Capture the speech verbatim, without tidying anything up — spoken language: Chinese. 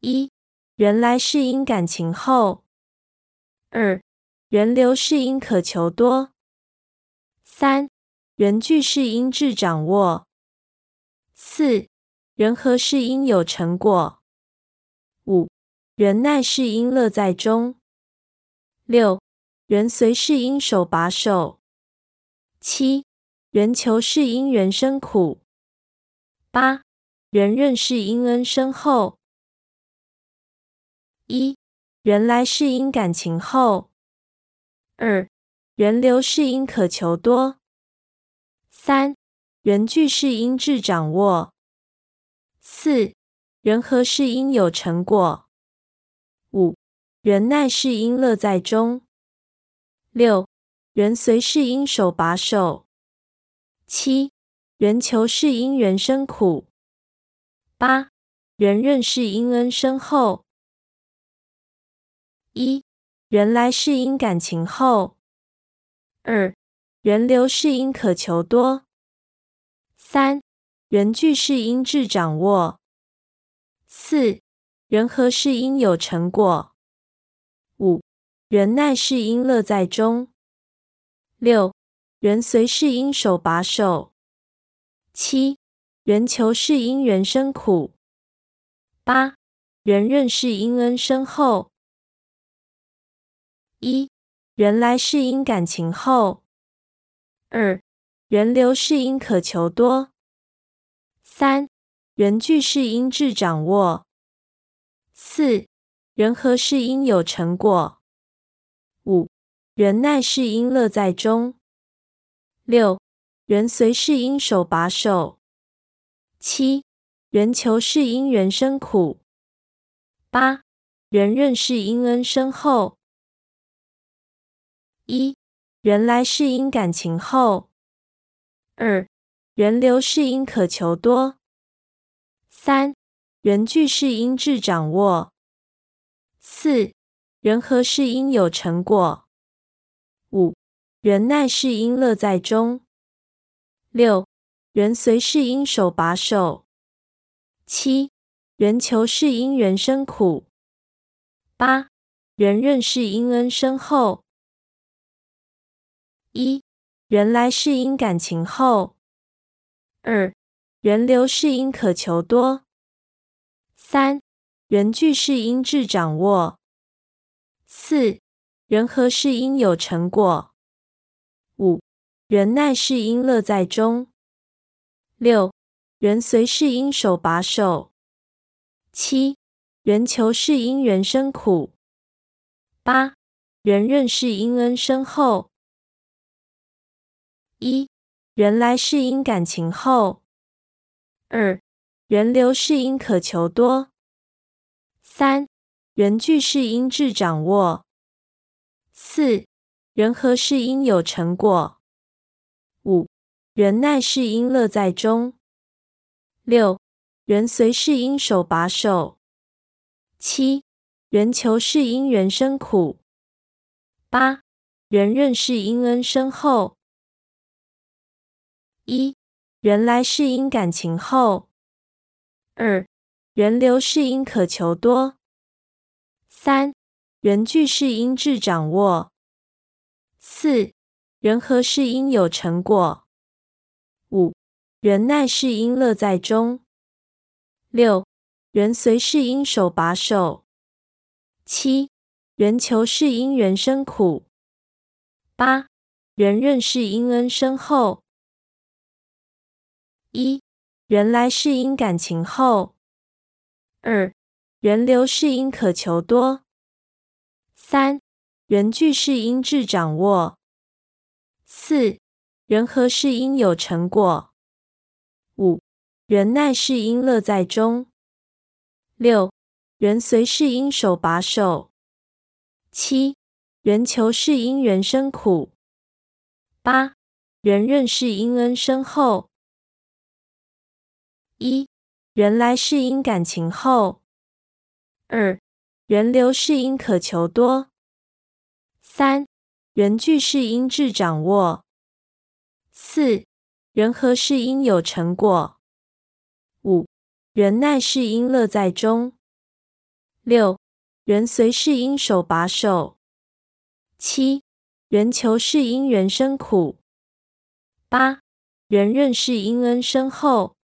一、人来是因感情厚。二、人流是因可求多。三、人具是因智掌握。四、人和是因有成果。五、人耐是因乐在中。六、人随是因手把手。七、人求是因人生苦。八、人任是因恩深厚。一、人来是因感情厚。二、人流是因可求多。三、人具是因智掌握。四、人和是因有成果。五、人耐是因乐在中。六、人随是因手把手。七、人求是因人生苦。八、人任是因恩深厚。一、人来是因感情厚。二、人流是因可求多。三、人具是因智掌握。四、人和是因有成果。五、人耐是因乐在中。六、人随是因手把手。七、人求是因人生苦。八、人任是因恩深厚。一、人来是因感情厚。二、人流是因可求多。三、人具是因智掌握。四、人和是因有成果。五、人耐是因乐在中。六、人随是因手把手。七、人求是因人生苦。八、人任是因恩深厚。一、人来是因感情厚。二、人流是因可求多。三、人具是因智掌握。四、人和是因有成果。五、人耐是因乐在中。六、人随是因手把手。七、人求是因人生苦。八、人任是因恩深厚。一、人来是因感情厚。二、人流是因可求多。三、人具是因智掌握。四、人和是因有成果。五、人耐是因乐在中。六、人随是因手把手。七、人求是因人生苦。八、人任是因恩深厚。一、人来是因感情厚。二、人流是因可求多。三、人具是因智掌握。四、人和是因有成果。五、人耐是因乐在中。六、人随是因手把手。七、人求是因人生苦。八、人任是因恩深厚。一、人来是因感情厚。二、人流是因可求多。三、人具是因智掌握。四、人和是因有成果。五、人耐是因乐在中。六、人随是因手把手。七、人求是因人生苦。八、人任是因恩深厚。一、人来是因感情厚。二、人流是因可求多。三、人具是因智掌握。四、人和是因有成果。五、人耐是因乐在中。六、人随是因手把手。七、人求是因人生苦。八、人任是因恩深厚。一、人来是因感情厚。二、人流是因可求多。三、人具是因智掌握。四、人和是因有成果。五、人耐是因乐在中。 六、人随是因手把手。七、人求是因人生苦。八、人任是因恩深厚。